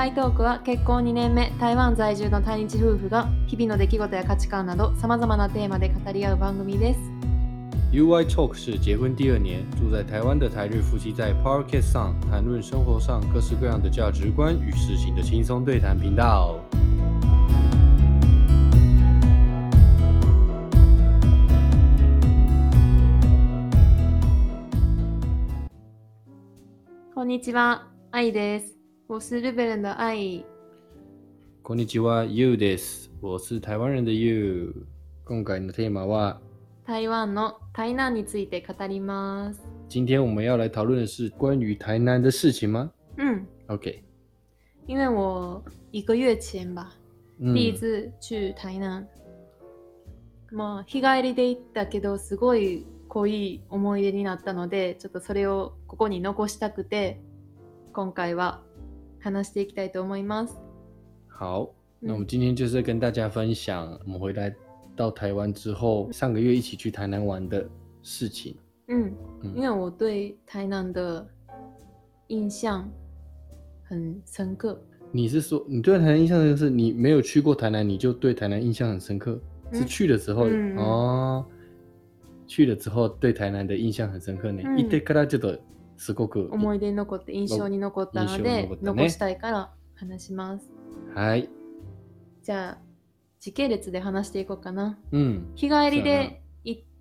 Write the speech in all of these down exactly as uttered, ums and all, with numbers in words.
外トークは結婚にねんめ、台湾在住の対日夫婦が日々の出来事や価値観など様々なテーマで語り合う番組です。 U Y Talk 是结婚第二年住在台湾的台日夫妻在 Podcast 上谈论生活上各式各样的价值观与事情的轻松对谈频道。 こんにちは、愛です。我是日本人的愛。 こんにちは、ゆうです。我是台湾人的ゆう。今回のテーマは台湾の台南について語ります。 今天我们要来讨论的是关于台南的事情吗？ 嗯 OK， 因为我一个月前吧、 嗯、 第一次去台南。まあ日帰りで行ったけどすごい濃い思い出になったので、ちょっとそれをここに残したくて、今回は話していきたいと思います。 好，那我们今天就是跟大家分享我们回来到台湾之后，上个月一起去台南玩的事情。 嗯， 嗯因为我对台南的印象很深刻。 你是说你对台南印象就是你没有去过台南，你就对台南印象很深刻？ 嗯是去了之后、 嗯哦，去了之后对台南的印象很深刻ね。 うん行ってからちょっとすごく思い出に残って印象に残ったの印象にで、 残ったね残したいから話します。 はい。 じゃあ時系列で話していこうかな。 うん。 日帰りで行って、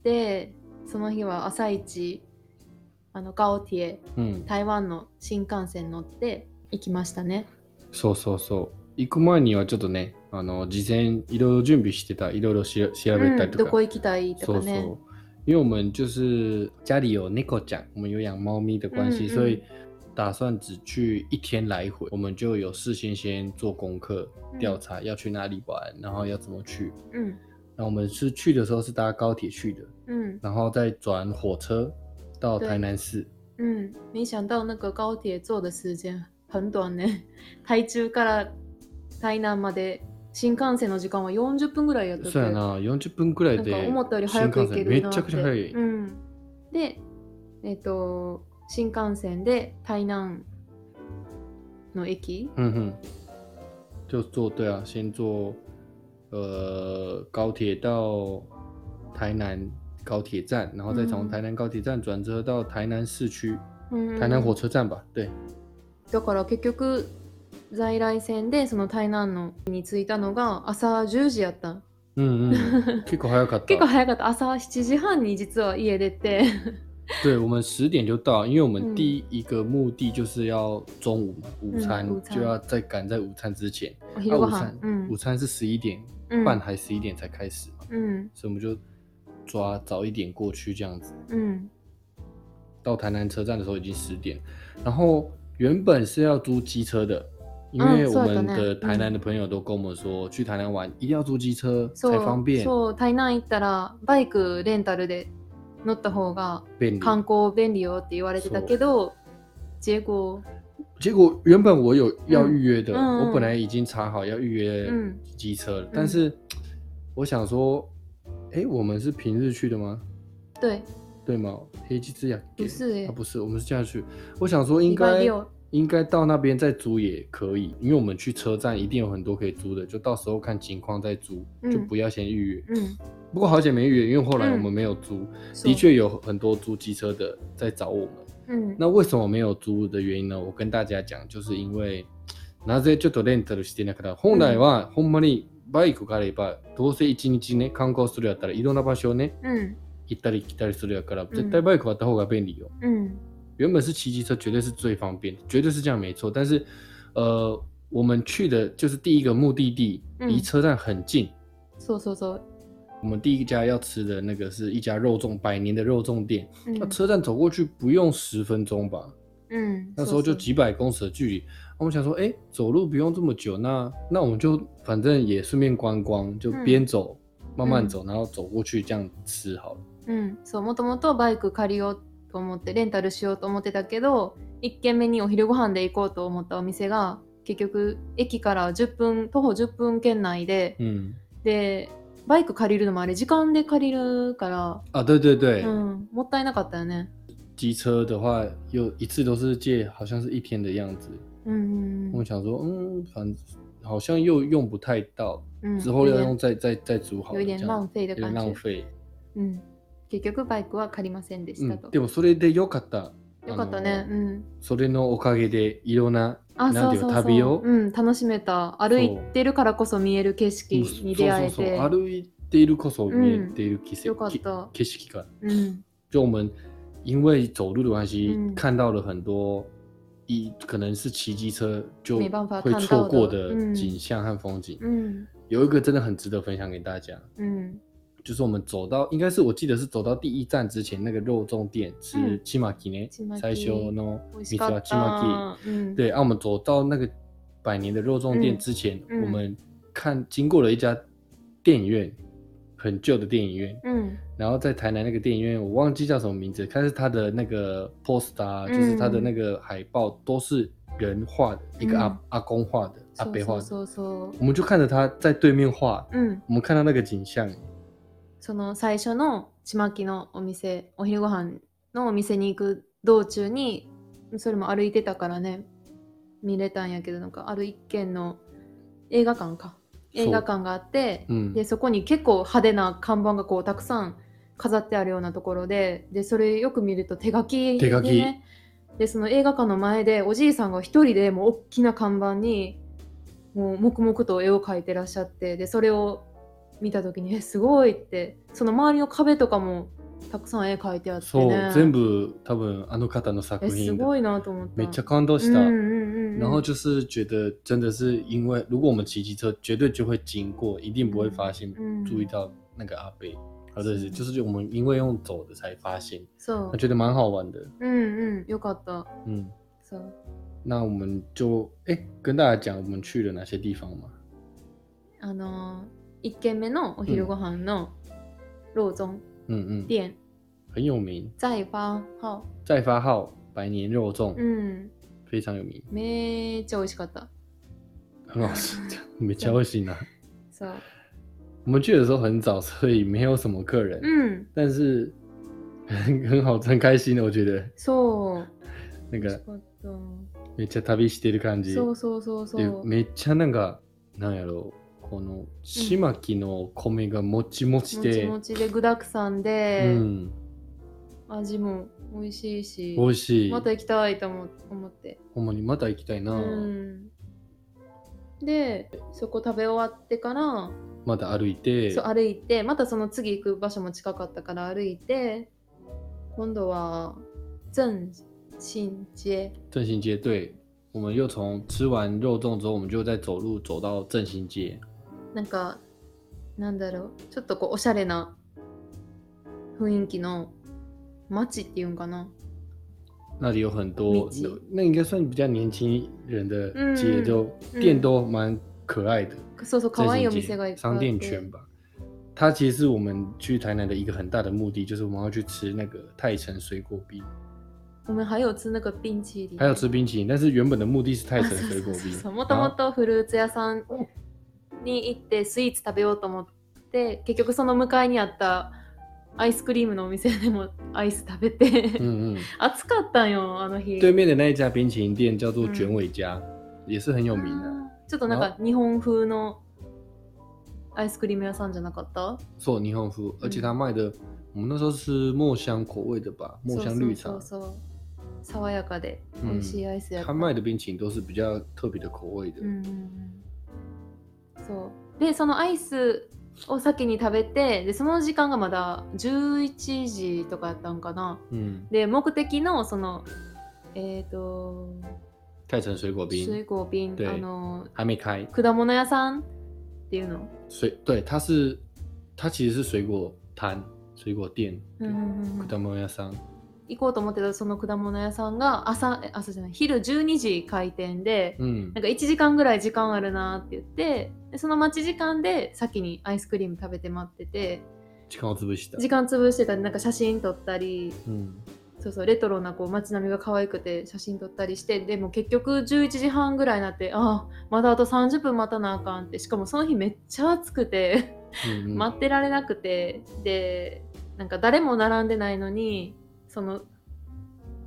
その日は朝一あの高铁、 うん。 台湾の新幹線乗って行きましたね。 そうそうそう。行く前にはちょっとね、あの事前いろいろ準備してた、いろいろし調べたりとか、 うん、どこ行きたいとかね。 そうそう。因为我们就是家里有猫ちゃん，我们有养猫咪的关系， 嗯嗯所以打算只去一天来回，我们就有事先先做功课，调查要去哪里玩，然后要怎么去。 嗯那我们是去的时候是搭高铁去的， 嗯然后再转火车到台南市。 嗯，没想到那个高铁坐的时间很短ね。台中から台南まで新幹線の時間はよんじゅっぷんぐらいやったって。 そうやな、よんじゅっぷんくらいで。 なんか思ったより早く行けるなって。 めっちゃくちゃ早い。 うん。で、えっと新幹線で台南の駅。 嗯哼，就坐对啊，先坐呃高铁到台南高铁站，然后再从台南高铁站转车到台南市区、 うん、 台南火車站吧。对。 だから結局在来線でその台南のに着いたのが朝じゅうじやった。 うんうん。結構早かった。 結構早かった。朝しちじはんに実は家出て。 对，我们十点就到，因为我们第一个目的就是要中午嘛，午餐、 嗯、午餐就要再赶在午餐之前。 お昼ご飯、 啊、午餐、 嗯、 午餐是十一点半还十一点才开始嘛， 嗯， 所以我们就抓早一点过去这样子。 嗯， 到台南车站的时候已经十点，然后原本是要租机车的。因为我们的台南的朋友都跟我们说、嗯、去台南玩一定要租機車才方便。 そう、台南行ったらバイクレンタルで乗った方が観光便利よって言われてたけど、结果结果原本我有要预约的、 嗯、 我本来已经查好要预约机车了、嗯、但是我想说哎，我们是平日去的吗？ 对对吗？平日やっけ？ 不是耶、 啊、不是，我们是这样去。我想说应该应该到那边再租也可以，因为我们去车站一定有很多可以租的，就到时候看情况再租、嗯、就不要先预约。嗯，不过好险没预约，因为后来我们没有租、嗯、的确有很多租机车的在找我们。嗯，那为什么没有租的原因呢？我跟大家讲，就是因为なぜちょっとレンタルしてなかった。本来はほんまにバイクがあればどうせ一日ね観光するやったらいろんな場所をね、うん、行ったり来たりするやから絶対バイクあった方が便利よ。嗯。原本是骑机车绝对是最方便，绝对是这样没错。但是，呃，我们去的就是第一个目的地，离车站很近。そうそうそう。我们第一家要吃的那个是一家肉粽，百年的肉粽店。那、嗯、车站走过去不用十分钟吧？嗯，那时候就几百公尺的距离。我们想说，哎，走路不用这么久，那那我们就反正也顺便观光，就边走、嗯、慢慢走，然后走过去这样吃好了。 嗯，そうもともとバイク借りようと思ってレンタルしようと思ってたけど、いっ軒目にお昼ご飯で行こうと思ったお店が結局駅からじゅっぷん徒歩じゅっぷん圏内で、うん、でバイク借りるのもあれ時間で借りるからあ、对对对、 うん、もったいなかったよね。 机车的话，有一次都是借，好像是一天的样子。嗯，我我想说，嗯，反正好像又用不太到， 嗯、 之后要用再再再租好了， 有点浪费的感觉。 有点浪费。 うん。結局バイクは借りませんでしたと。 うん、でもそれでよかった。 よかったね。うん。 それのおかげでいろんな、 あ、 なんていうそうそうそう旅を、 うん、楽しめた。歩いてるからこそ見える景色に出会えて。 そうそうそう、歩いているこそ見えている景色、 よかった。 景色感。 嗯， 就我们因为走路的关系，嗯、看到了很多一可能是骑机车就会错过的景象和风景。嗯，有一个真的很值得分享给大家。嗯。就是我们走到，应该是我记得是走到第一站之前，那个肉粽店吃チマキね，最初の店はチマキ。对，啊，我们走到那个百年的肉粽店之前，嗯、我们看经过了一家电影院，很旧的电影院。嗯，然后在台南那个电影院，我忘记叫什么名字，但是它的那个 poster，、嗯、就是它的那个海报都是人画的，一个阿、嗯、阿公画的，阿伯画的。そうそうそう。我们就看着他在对面画，嗯，我们看到那个景象。 その最初のちまきのお店、お昼ご飯のお店に行く道中に、それも歩いてたからね、見れたんやけど、なんかある一軒の映画館か映画館があって、うん、でそこに結構派手な看板がこうたくさん飾ってあるようなところで、でそれよく見ると手書きでね、手書きでその映画館の前でおじいさんが一人でもう大きな看板にもう黙々と絵を描いてらっしゃって、でそれを見た時にえすごいって、その周りの壁とかもたくさん絵描いてあってね。 そう、全部多分あの方の作品。 すごいなと思った。 めっちゃ感動した。嗯嗯嗯、然后就是觉得真的是因为如果我们骑机车绝对就会经过，一定不会发现、嗯、注意到那个阿伯。或者是就是我们因为用走的才发现。そう。觉得蛮好玩的。 嗯嗯、よかった。嗯。そう。 那我们就哎跟大家讲我们去了哪些地方嘛。 あの一軒目のお昼ご飯の肉粽店、 嗯、很有名。 在发号。 在发号百年肉粽。嗯。非常有名。 めっちゃ美味しかった。 很好吃。めっちゃ美味しいな。 そう。 我们去的时候很早，所以没有什么客人。嗯。但是很很好，很开心的，我觉得。 そう。 那个。めっちゃ旅してる感じ。 そうそうそうそう。 めっちゃなんかなんやろう、このちまきの米がもちもちで、 もちもちで具だくさんで、うん、味も美味しいし、 美味しい。 また行きたいと思って。 ほんまにまた行きたいな。うん。で、そこ食べ終わってからまた歩いて、 そう歩いて、またその次行く場所も近かったから歩いて、今度は正新街。 正新街，对，我们又从吃完肉粽之后，我们就再走路走到正新街。 なんかなんだろう、ちょっとこうおしゃれな雰囲気の街っていうんかな。 那里有很多，那应该算比较年轻人的街，就店都蛮可爱的。 そうそう、可愛いお店がいっぱいあって。 商店圈吧。它其实是我们去台南的一个很大的目的，就是我们要去吃那个泰城水果冰。 我们还有吃那个冰淇淋。 还有吃冰淇淋，但是原本的目的是泰城水果冰。 もともとフルーツ屋さんに行ってスイーツ食べようと思って、結局その向かいにあったアイスクリームのお店でもアイス食べて、嗯嗯暑かったんよあの日。 对面的那一家冰淇淋店叫做卷尾家，也是很有名的。 ちょっとなんか日本風のアイスクリーム屋さんじゃなかった？ そう、日本風，而且他卖的，我们那时候是墨香口味的吧，墨香绿茶。 そうそうそうそう。爽やかで美味しいアイスやった。 他卖的冰淇淋都是比较特别的口味的。うんうん、 そうで、そのアイスを先に食べて、でその時間がまだじゅういちじとかやったんかな。うん、で目的のそのえっ、ー、と泰城水果冰。 水果冰あの还没开。 果物屋さんっていうの。 水对，它是它其实是水果摊、水果店。うんうんうん、果物屋さん。 行こうと思ってたその果物屋さんが朝朝じゃない昼じゅうにじ開店で、うん、なんかいちじかんぐらい時間あるなって言って、でその待ち時間で先にアイスクリーム食べて待ってて、 時間を潰した時間潰してたり、なんか写真撮ったり、うん、そうそうレトロなこう街並みが可愛くて写真撮ったりして、でも結局じゅういちじはんぐらいになって、あまだあとさんじゅっぷん待たなあかんって、しかもその日めっちゃ暑くてうん、うん、待ってられなくて、でなんか誰も並んでないのにその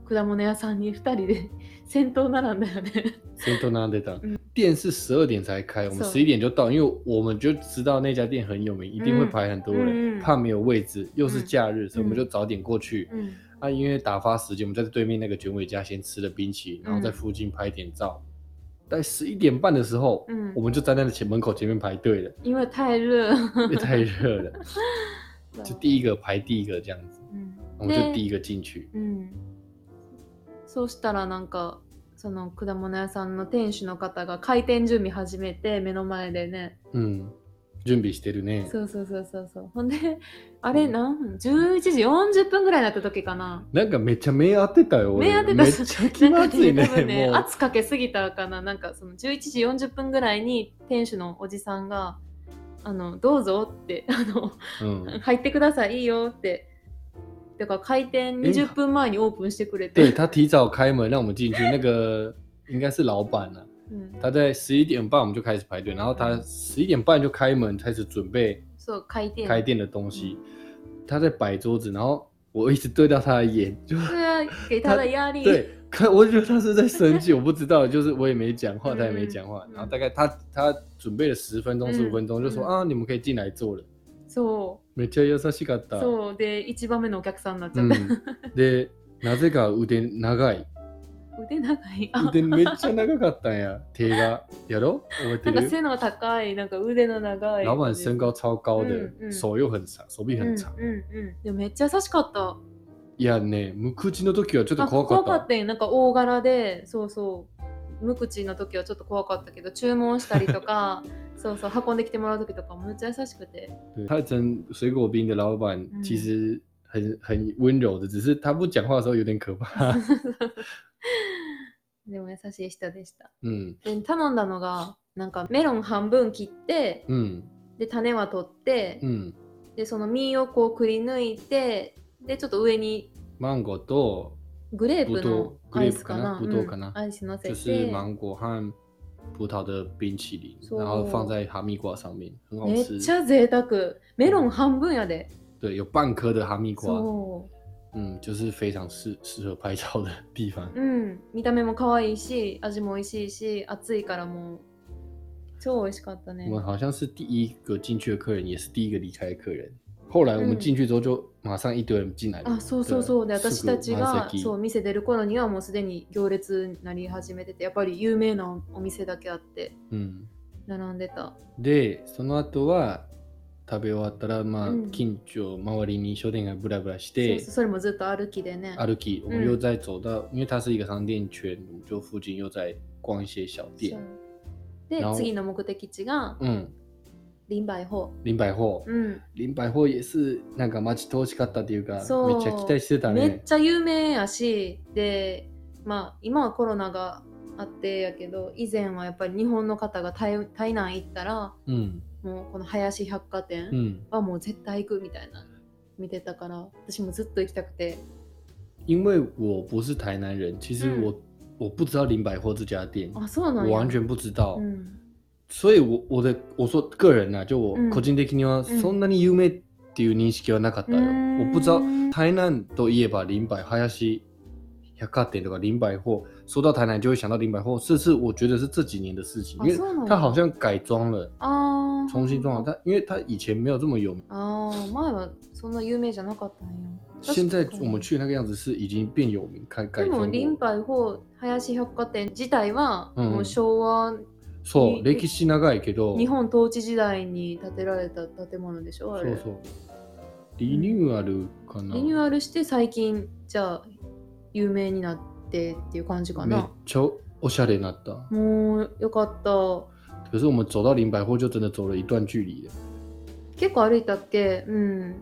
果物屋さんにふたりで先頭並んだよね。 先頭並んでた。店是十二点才开，我们十一点就到，因为我们就知道那家店很有名，一定会排很多人，嗯、怕没有位置，又是假日，嗯、所以我们就早点过去。嗯，啊，因为打发时间，我们在对面那个卷尾家先吃了冰淇淋，然后在附近拍点照。在十一点半的时候，嗯，我们就站在前门口前面排队了， 因为太热， 因为太热了，就第一个排第一个这样子，嗯，我们就第一个进去， 嗯。そうしたらなんかその果物屋さんの店主の方が開店準備始めて目の前でね、 うん、準備してるね。 そうそうそうそうそう。ほんであれなんじゅういちじよんじゅっぷんぐらいになった時かな。 なんかめっちゃ目当てたよ。 目当てた。 めっちゃ気まずいね。 なんかね、多分ね、圧かけすぎたかな。なんかそのじゅういちじよんじゅっぷんぐらいに店主のおじさんがあのどうぞってあの、うん、入ってくださいいいよって。だから開店にじゅっぷんまえにオープンしてくれて。 对，他提早开门让我们进去，那个应该是老板啊。嗯、他在十一点半我们就开始排队，然后他十一点半就开门，开始准备开店开店的东西。嗯、他在摆桌子，然后我一直对到他的眼，就对啊，给他的压力。 对，看我觉得他是在生气，我不知道，就是我也没讲话，他也没讲话。嗯、然后大概他他准备了十分钟、十五分钟，就说、嗯、あ、你们可以进来坐了。 そう。 めっちゃ優しかった。 そうで一番目のお客さんになっちゃった。うん、 でなぜか腕長い。 腕長い。 腕めっちゃ長かったんや。手がやろ？覚えてる？ なんか背の高い、なんか腕の長い。 老板身高超高的、嗯嗯、手又很長、手臂很長。 うんうんうん。でもめっちゃ優しかった。 いやね、無口の時はちょっと怖かった。 怖かったよ。なんか大柄で、そうそう。無口の時はちょっと怖かったけど、注文したりとか。そうそう運んできてもらう時とかめっちゃ優しくて。 他蒸水果冰的老板其实很很温柔的，只是他不讲话的时候有点可怕。 でも優しい人でした。うん。で頼んだのがなんかメロン半分切って、うん、で種は取って、うん、でその実をこうくり抜いて、でちょっと上にマンゴーとグレープのアイスかな、 葡萄かな、 うん、アイス乗せて、 就是芒果和葡萄的冰淇淋，然后放在哈密瓜上面，很好吃。 めっちゃ贅沢。メロン半分やで。 对，有半颗的哈密瓜。嗯，就是非常适适合拍照的地方。 嗯，見た目も可愛いし、味も美味しいし、暑いからもう超美味しかったね。 我们好像是第一个进去的客人，也是第一个離開的客人。後来我们进去之后就马上一堆人进来了。 あ、そうそうそう。で、私たちがそう店出る頃にはもうすでに行列になり始めてて、やっぱり有名なお店だけあって、うん、並んでた。 で、その後は食べ終わったら、まあ、うん、近所周りに商店街ブラブラして、 そうそう、それもずっと歩きでね。 歩き，我们又再走到，因为它是一个商店圈，我们就附近又在逛一些小店。 で、次の目的地が、うん。林百貨。 林百貨。うん。林百貨也是なんか待ち遠しかったっていうか、めっちゃ期待してたね。 めっちゃ有名やし、で、まあ今はコロナがあってやけど、以前はやっぱり日本の方が 台, 台南行ったら、うん、もうこの林百貨店はもう絶対行くみたいな見てたから、私もずっと行きたくて。 因为我不是台南人，其实我、嗯、我不知道林百貨这家店， 啊，そうなんや。 我完全不知道。嗯。所以我我的我说个人啊，就我個人的にはそんなに有名っていう認識はなかったよ。嗯、我不知道台南といえば林百林百貨店とか林百貨，说到台南就会想到林百貨，这是我觉得是这几年的事情，因为它好像改装了，啊、重新装了。它因为它以前没有这么有名。 啊，前はそんな有名じゃなかったんよ。 现在我们去那个样子是已经变有名，改改装过。 でも林百貨林百貨店自体はもう昭和、うんそう、歴史長いけど日本統治時代に建てられた建物でしょ、あれ。 そうそう。リニューアルかな。 リニューアルして最近じゃあ有名になってっていう感じかな。 めっちゃおしゃれになった。 もうよかった。 可是我们走到林百貨就真的走了一段距離。 結構歩いたっけ？うん。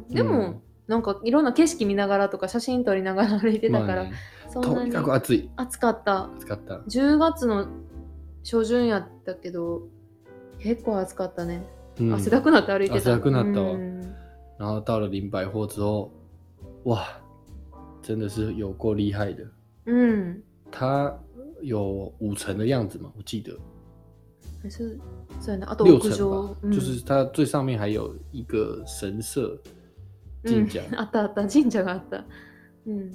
でも、うん、なんかいろんな景色見ながらとか写真撮りながら歩いてたから、まあね、 そんなにとにかく暑い。 暑かった。 暑かった。 じゅうがつの初旬やったけど結構暑かったね、うん、汗だくなって歩いてた。 汗だくなったわ、うん、然后到了林百貨之后，哇，真的是有够厉害的。嗯，它有五层的样子嘛，我记得。 还是そうやね、あと六层吧、嗯，就是它最上面还有一个神社神社、 うん、あったあった神社があった。うん。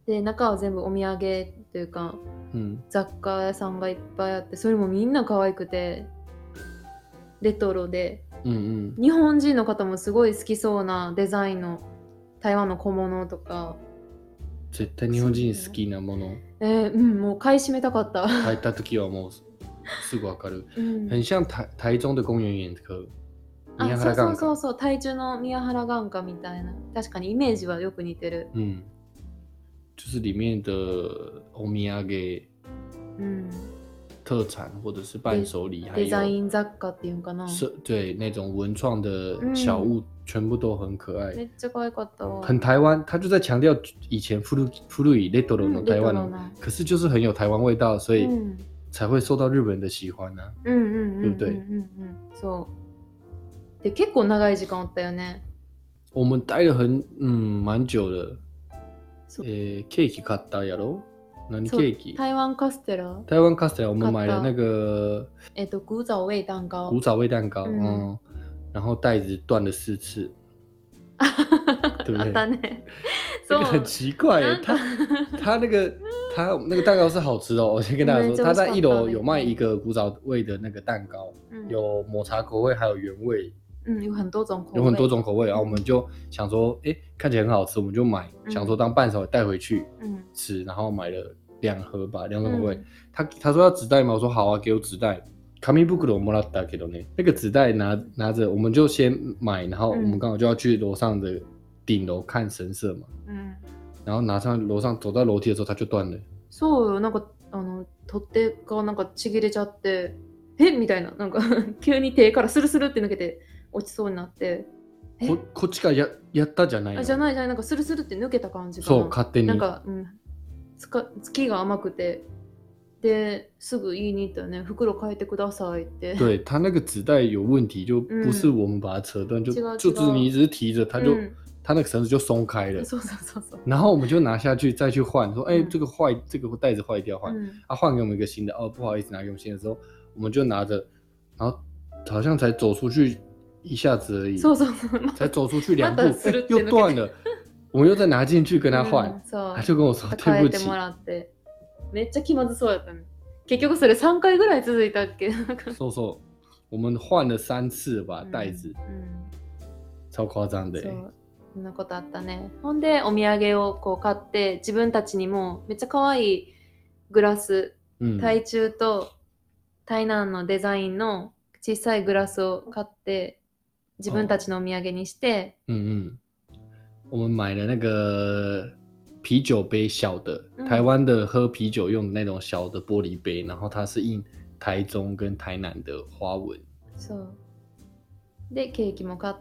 で中は全部お土産というか、うん、雑貨屋さんがいっぱいあって、それもみんな可愛くてレトロで、うんうん、日本人の方もすごい好きそうなデザインの台湾の小物とか。 絶対日本人好きなもの。 えー、うん、もう買い占めたかった。 入った時はもうすぐわかる。うん、很像台台中的公園眼科。 あ、そうそうそうそう、台中の宮原眼科みたいな。確かにイメージはよく似てる。 うん。就是里面的お土産、うん、特产或者是伴手礼，还有デザイン雑貨っていうかな。 是，对，那种文创的小物，嗯、全部都很可爱。 めっちゃ可愛かった。 很台湾，他就在强调以前古古いレトロの台湾の、嗯，可是就是很有台湾味道，所以才会受到日本人的喜欢呢、啊。嗯嗯嗯，对不对？ 嗯嗯嗯，そう。で結構長い時間おったよね。 我们待了很嗯蛮久的。えー、ケーキ買ったやろ？何ケーキ？ 台湾カステラ。 台湾カステラ，我们买了那个， えっと古早味蛋糕。 古早味蛋糕，嗯，嗯然后袋子断了四次，对不对？这个很奇怪耶，他他那个他那个蛋糕是好吃的哦，我先跟大家说，他在一楼有卖一个古早味的那个蛋糕，嗯、有抹茶口味，还有原味。 嗯，有很多种口味， 有很多种口味，然后我们就想说，哎，看起来很好吃，我们就买，嗯、想说当伴手带回去吃，嗯、然后买了两盒吧，两种口味。嗯、他他说要纸袋嘛，我说好啊，给我纸袋。紙袋もらったけどね，那个纸袋拿拿着，我们就先买，然後我们刚好就要去楼上的顶楼看神社嘛，嗯，然后拿上楼上走到楼梯的时候，它就断了。 そうよ、なんかあの取っ手がなんかちぎれちゃって、えみたいな、なんか急に手からスルスルって抜けて。落ちそうになってこ, こっちから や, やったじゃないの？ あじゃないじゃない、なんかスルスルって抜けた感じかな。そう勝手になんか、うん、つか月が甘くてですぐ言いに行ったよね、袋変えてくださいって。 对，它那个纸袋有问题，就不是我们把它扯断，嗯、就就是你一直提着，它就、嗯、它那个绳子就松开了。 そうそうそうそう。 然后我们就拿下去再去换，说哎、嗯、这个坏，这个袋子坏掉换，嗯、啊换给我们一个新的，哦不好意思拿给我们新的时候，我们就拿着，然后好像才走出去。一下子而已， そうそうそう才走出去两步、欸、又断了，我们又再拿进去跟他换、嗯、他就跟我说对不起。 めっちゃ気まずそうやったね。結局それさんかいぐらい続いたっけ？ そうそう、我们换了三次吧袋子、うんうん、超夸張で。 そうそんなことあったね。ほんでお土産をこう買って自分たちにもめっちゃ可愛いグラス、うん、台中と台南のデザインの小さいグラスを買って自分たちのお土産にして、 哦、嗯嗯，我们买了那个啤酒杯小的，嗯、台湾的喝啤酒用的那种小的玻璃杯，然后它是印台中跟台南的花纹。 そう。でケーキも買って、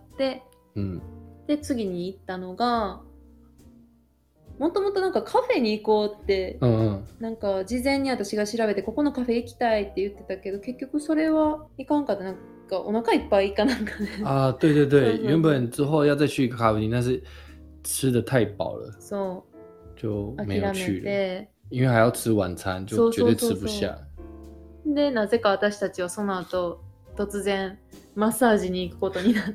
うん、で次に行ったのが、もともとなんかカフェに行こうって、うんうん、なんか事前に私が調べてここのカフェ行きたいって言ってたけど、結局それは行かんかった。なんかお腹いっぱいかなんかね。 啊，对对对，原本之后要再去一个咖啡厅，但是吃的太饱了， そう就没有去了，因为还要吃晚餐，就绝对吃不下。 でなぜか私たちはその後突然マッサージに行くことになって。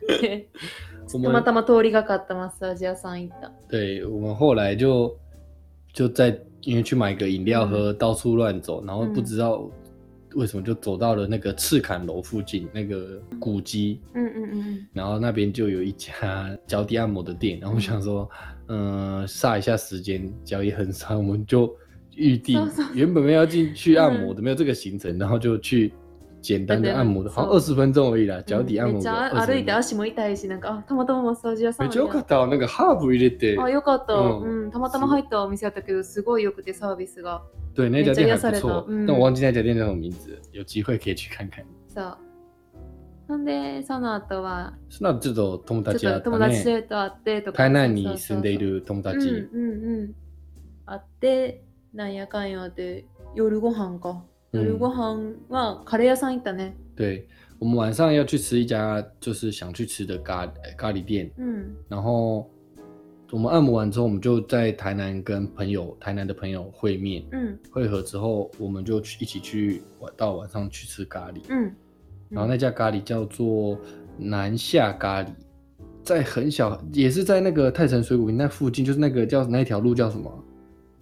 たまたま通りがかったマッサージ屋さん行った。 对，我们后来就就在因为去买个饮料喝，嗯、到处乱走，然后不知道为什么就走到了那个赤坎楼附近那个古迹，嗯嗯嗯，然后那边就有一家脚底按摩的店，然后我想说，嗯、呃，煞一下时间，脚也很酸，我们就预定，原本没有要进去按摩的，没有这个行程，然后就去。简单的按摩的，好像二十分钟而已啦，脚底按摩的。めっちゃ歩いて足も痛いし、なんかあたまたまマッサージ屋さん。 めっちゃ良かった。なんかハーブ入れて。 あ、よかった。うん、たまたま入ったお店やったけど、すごい良くてサービスが。 对，那家店还不错，但我忘记那家店叫什么名字，有机会可以去看看。 そう。なんでその後は。 その後ちょっと友達やったね。 友達と会ってとか。 台南に住んでいる友達。 うんうんうん。会ってなんやかんやで夜ご飯か。夜ご飯はカレー屋さん行ったね。 对，我们晚上要去吃一家就是想去吃的咖咖喱店，嗯，然后我们按摩完之后，我们就在台南跟朋友台南的朋友会面，嗯，会合之后，我们就去一起去到晚上去吃咖喱，嗯，嗯然后那家咖喱叫做南下咖喱，在很小，也是在那个泰城水果那附近，就是那个叫那条路叫什么？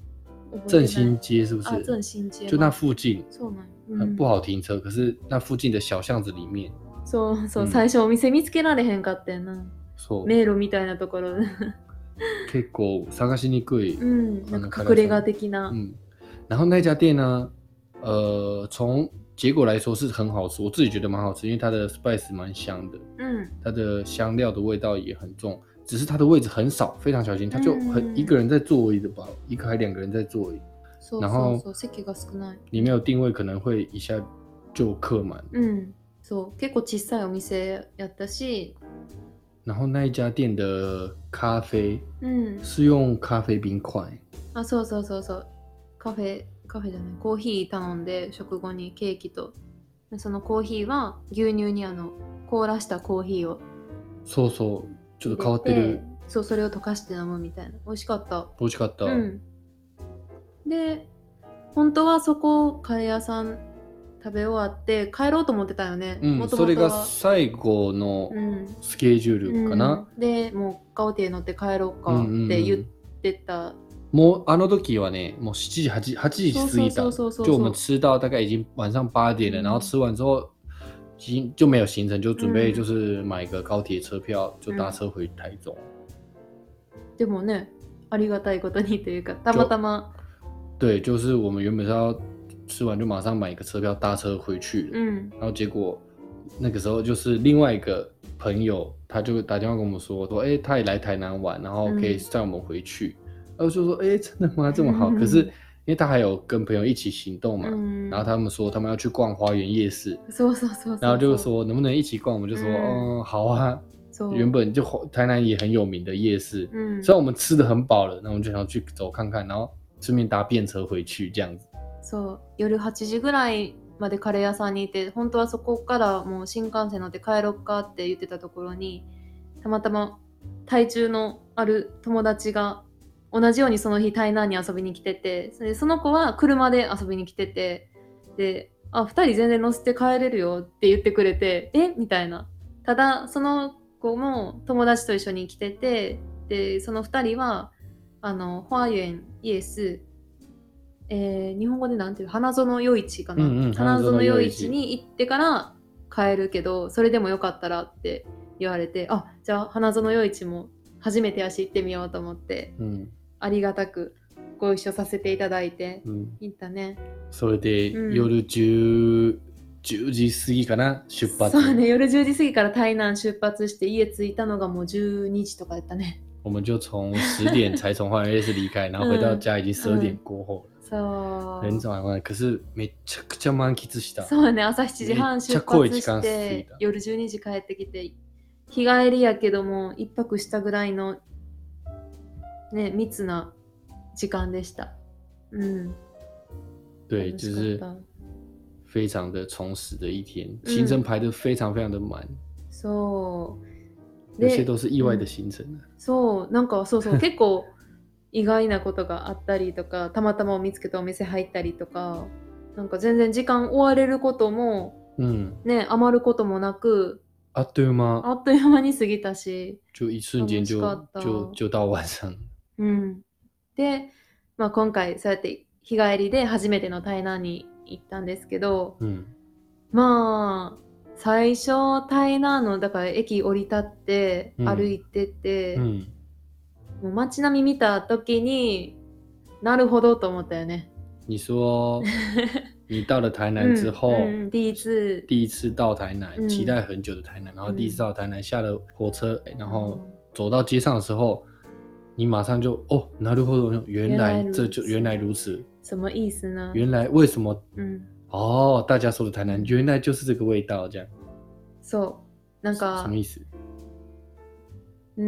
振兴街是不是？ 啊，振兴街就那附近， そうなん、 嗯、很不好停車，可是那附近的小巷子里面。 そうそう、最初お店見つけられへんかったよな。そう。迷路みたいなところ。 結構探しにくい。 嗯，那个隠れ家的な。 嗯，然后那家店呢，呃，从结果来说是很好吃，我自己觉得蛮好吃，因为它的 spice 蛮香的，嗯，它的香料的味道也很重，只是它的位置很少，非常小心，它就很、嗯、一个人在座而已的吧，一个还两个人在座而已。然后里面有定位，可能会一下就客满。 嗯，そう結構小さいお店やったし。 然后那一家店的咖啡，嗯，是用咖啡冰块。 あ、そうそうそうそう。カフェカフェじゃない、コーヒー頼んで食後にケーキと、そのコーヒーは牛乳にあの凍らしたコーヒーを。 そうそう、ちょっと変わってる。 そう、それを溶かして飲むみたいな。美味しかった。 美味しかった。うん。 で、本当はそこカレー屋さん食べ終わって帰ろうと思ってたよね。 うん、 もともとはそれが最後のスケジュールかな。 うん、で、もうガオティ乗って帰ろうかって言ってた。うんうんうん、 もうあの時はね、もうしちじ、はちじ過ぎた，就我们吃到大概已经晚上八点了，嗯、然后吃完之后，已经就没有行程，就准备就是买个高铁车票，就搭车回台中。 でもね、ありがたいことにというか、たまたま。 对，就是我们原本是要吃完就马上买一个车票搭车回去，嗯，然后结果那个时候就是另外一个朋友，他就打电话跟我们说，说，哎，他也来台南玩，然后可以载我们回去。嗯，然后就说，哎，真的吗？这么好？可是因为他还有跟朋友一起行动嘛，嗯、然后他们说他们要去逛花园夜市，然后就说能不能一起逛？我们就说，嗯，嗯好啊。原本就台南也很有名的夜市，嗯，虽然我们吃的很饱了，那我们就想要去走看看，然后顺便搭便车回去这样子。 そう、夜はちじぐらいまでカレー屋さんにいて、本当はそこからもう新幹線乗って帰ろっかって言ってたところに、たまたま台中のある友達が同じようにその日台南に遊びに来てて、それでその子は車で遊びに来てて、で、あ、ふたり全然乗せて帰れるよって言ってくれて、えみたいな。ただその子も友達と一緒に来てて、でそのふたりはあの花園イエス、えー、日本語でなんていう花園夜市かな、うんうん、花園夜市に行ってから帰るけど、それでもよかったらって言われて、あ、じゃあ花園夜市も初めてやし行ってみようと思って、うん、ありがたくご一緒させていただいて、うん、行ったね。 それで、うん、夜じゅう、じゅうじ過ぎかな出発。 そうね、夜じゅうじ過ぎから台南出発して家着いたのがもうじゅうにじとかだったね。 我们就从十点才从花园夜市离开，然后回到家已经十二点过后了。 そう。 很早晚，可是めちゃくちゃ満喫した。 そうね、朝しちじはん出発して夜じゅうにじ帰ってきて、日帰りやけども一泊したぐらいのね密な時間でした。嗯。 对，就是非常的充实的一天，行程排得非常非常的满。 そう。 有些都是意外的行程、うん、 そうなんかそうそう結構意外なことがあったりとか、たまたま見つけたお店入ったりとか、なんか全然時間追われることも、うん、ね余ることもなく、 あっという間あっという間に過ぎたし、 就一瞬間就就就到晚上。 うん。で、まあ今回そうやって日帰りで初めての台南に行ったんですけど、うん、まあ。最初台南のだから駅降り立って歩いてて、うんうん、もう街並み見た時になるほどと思ったよね。 你说你到了台南之后， 嗯嗯、第一次第一次到台南、嗯，期待很久的台南，然后第一次到台南，下了火车，然后走到街上的时候，你马上就哦，なるほど，原来这就原来如此。 什么意思呢？ 原来为什么？嗯。哦，大家说的台南原来就是这个味道，这样。 そう、なんか什么意思？ うん、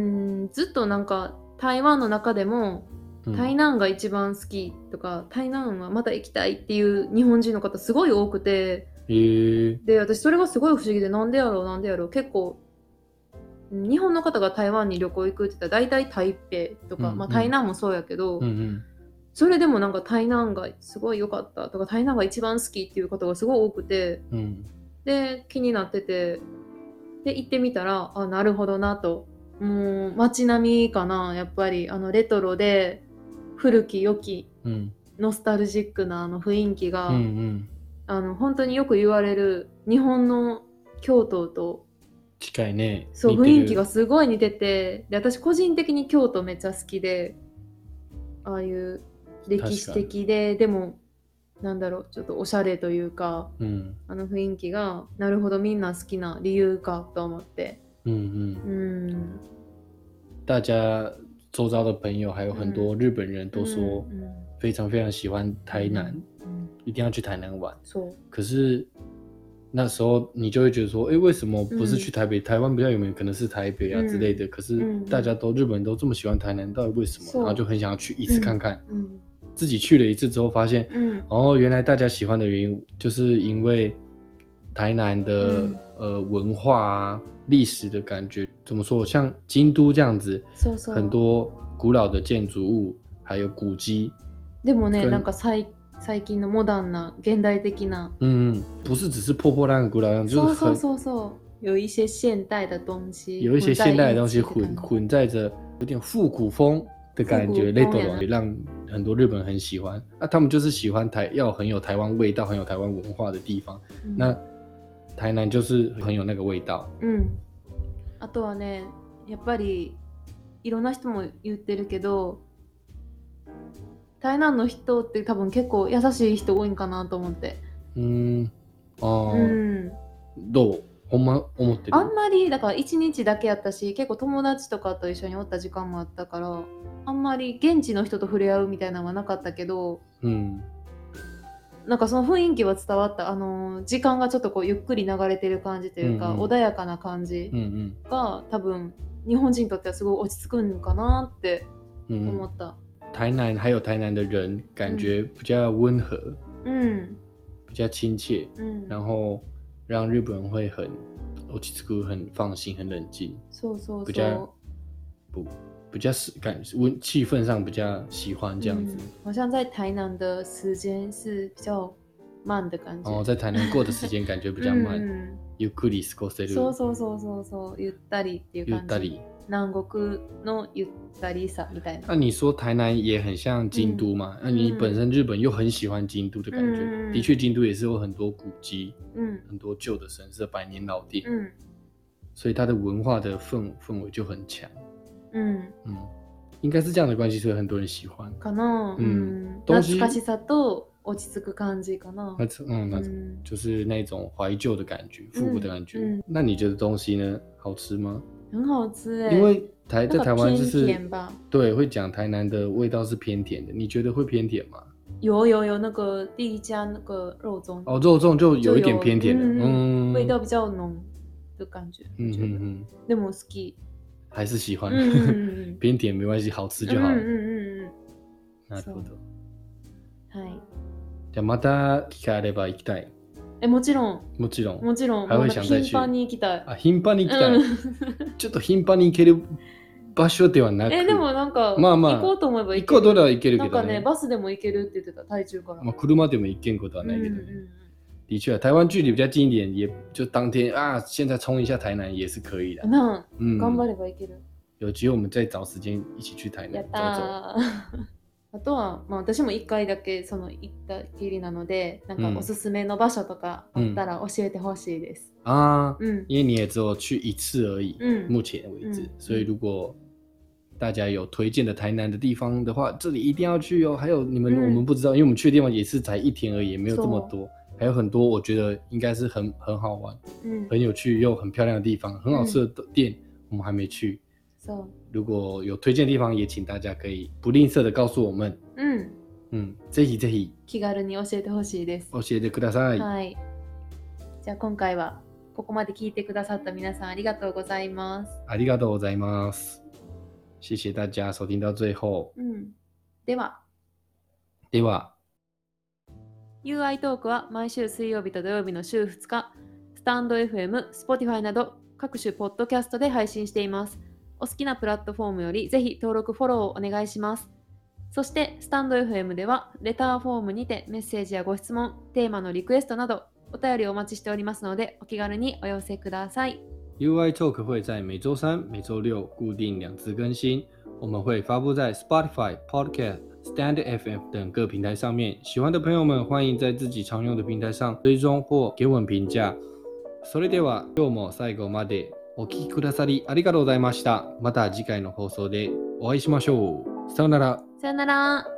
ずっとなんか台湾の中でも、うん、台南が一番好きとか、台南はまた行きたいっていう日本人の方すごい多くて、 へー。 で私それがすごい不思議で、なんでやろうなんでやろう、結構日本の方が台湾に旅行行くって言ったら大体台北とか、うんうん、まあ台南もそうやけど。うんうん、それでもなんか台南がすごい良かったとか、台南が一番好きっていう方がすごい多くて、うん、で気になってて、で行ってみたら、あ、なるほどなと。もう街並みかな、やっぱりあのレトロで古き良きノスタルジックなあの雰囲気が、 うんうん、 あの本当によく言われる日本の京都と近いね。 そう雰囲気がすごい似てて、で私個人的に京都めっちゃ好きで、ああいう歴史的ででもなんだろうちょっとおしゃれというか、 うん、 あの雰囲気がなるほどみんな好きな理由かと思って。 うんうん。 嗯， 大家周遭的朋友还有很多日本人都说非常非常喜欢台南，嗯、一定要去台南玩。可是那时候你就会觉得说，哎，为什么不是去台北？嗯、台湾比较有名，可能是台北啊之类的。嗯、可是大家都日本人都这么喜欢台南，到底为什么？然后就很想要去一次看看。嗯嗯、自己去了一次之后，发现，嗯，哦，原来大家喜欢的原因，就是因为台南的、嗯、呃文化啊、历史的感觉。怎么说？像京都这样子，そうそう很多古老的建筑物，还有古迹。 でもね、なんか最最近のモダンな現代的な， 嗯，不是只是破破烂烂、古老样，就是很， そうそうそう有一些现代的东西， 有一些现代的东西混混在着，有点复古风的感觉，那种也让很多日本人很喜欢。那、啊、他们就是喜欢台，要很有台湾味道、很有台湾文化的地方。嗯、那台南就是很有那个味道。 嗯。あとはね、やっぱりいろんな人も言ってるけど、台南の人って多分結構優しい人多いんかなと思って。 うーん、ああ、うん、どう？ほんま思ってる？ あんまりだから一日だけやったし、結構友達とかと一緒におった時間もあったから、あんまり現地の人と触れ合うみたいなのはなかったけど、うん、なんかその雰囲気は伝わった。あの時間がちょっとこうゆっくり流れてる感じというか、うんうん、穏やかな感じが、うんうん、多分日本人にとってはすごい落ち着くんかなって思った。 嗯、台南还有台南的人感觉比较温和，嗯，比较亲切，嗯，然后让日本人会很落ち着く、很放心、很冷静， そうそうそう， 比较不。比较感温气氛上比较喜欢这样子、嗯， 好像在台南的时间是比较慢的感觉。 哦，在台南过的时间感觉比较慢，ゆっくり過ごせる。 そうそうそうそうそう、ゆったりっていう感じ。 ゆったり。 南国のゆったりさみたいな。 那你说台南也很像京都嘛？那、嗯、你本身日本又很喜欢京都的感觉，嗯、的确京都也是有很多古迹，嗯，很多旧的神社、百年老店，嗯，所以它的文化的氛氛围就很强。嗯嗯，应该是这样的关系，所以很多人喜欢。 かな、嗯，懐かしさと落ち着く感じかな。 嗯，那就是那种怀旧的感觉，复古的感觉。嗯嗯、那你觉得东西呢？好吃吗？ 很好吃哎、 欸，因为台在台湾就是偏甜吧？ 对，会讲台南的味道是偏甜的。你觉得会偏甜吗？ 有有有，那个第一家那个肉粽哦，肉粽就有一点偏甜的， 嗯，味道比较浓的感觉。嗯嗯嗯，でも好き。 还是喜欢、嗯、偏甜没关系，好吃就好了。 うんうんうんうん。 なるほど。 はい。 じゃあまた機会あれば行きたい。 え、もちろん。 もちろん。 もちろん。 还会想再去。 頻繁に行きたい。 あ、頻繁に行きたい。ちょっと頻繁に行ける場所ではなく。 え、でもなんか、 まあまあ、 行こうと思えば行ける。行こうとは行けるけどね。 なんかね、バスでも行けるって言ってた、台中から。 まあ、車でも行けんことはないけどね。うんうんうん、的确，台湾距离比较近一点，也就当天啊，现在冲一下台南也是可以的。 那、嗯、頑張れば行ける。 有機会我们再找時間一起去台南走走。 あとは、まあ、私もいっかいだけその行ったきりなので、なんかおすすめの場所とかあったら教えてほしいです。 嗯、啊，嗯，因为你也只有去一次而已，嗯，目前为止，嗯、所以如果大家有推荐的台南的地方的话，这里一定要去哦。还有你们、嗯、我们不知道，因为我们去的地方也是才一天而已，也没有这么多，还有很多我觉得应该是很很好玩、嗯、很有趣又很漂亮的地方，很好吃的店、嗯、我们还没去。So, 如果有推荐的地方，也请大家可以不吝啬的告诉我们。嗯嗯，ぜひぜひ気軽に教えてほしいです。 教えてください。 はい。じゃあ今回はここまで聞いてくださった皆さんありがとうございます。 ありがとうございます。谢谢大家收听到最后。 嗯。では。 では。 ユーアイ トークは毎週水曜日と土曜日の週ふつか、スタンド エフエム、Spotify など各種ポッドキャストで配信しています。お好きなプラットフォームよりぜひ登録フォローをお願いします。そしてスタンド エフエム ではレターフォームにてメッセージやご質問、テーマのリクエストなどお便りをお待ちしておりますのでお気軽にお寄せください。 ユーアイ Talk 会在每周三、每周六固定两次更新。 我们会发布在 Spotify、Podcast、Stand F M 等各平台上面。喜欢的朋友们，欢迎在自己常用的平台上追踪或给我们评价。それでは今日も最後までお聞きくださりありがとうございました。また次回の放送でお会いしましょう。さよなら。 さよなら。